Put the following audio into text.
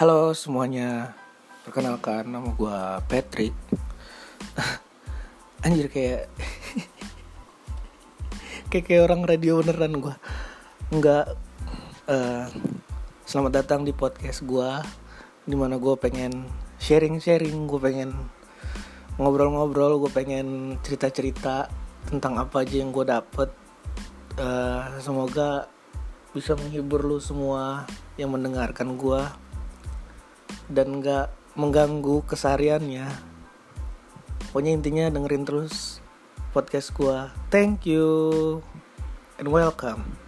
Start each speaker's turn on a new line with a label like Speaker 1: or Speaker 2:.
Speaker 1: Halo semuanya, perkenalkan nama gue Patrick. Anjir kayak orang radio beneran gue. Enggak. Selamat datang di podcast gue, dimana gue pengen sharing, gue pengen ngobrol-ngobrol, gue pengen cerita-cerita tentang apa aja yang gue dapet. Semoga bisa menghibur lu semua yang mendengarkan gue dan gak mengganggu kesehariannya. Pokoknya intinya dengerin terus podcast gua. Thank you and welcome.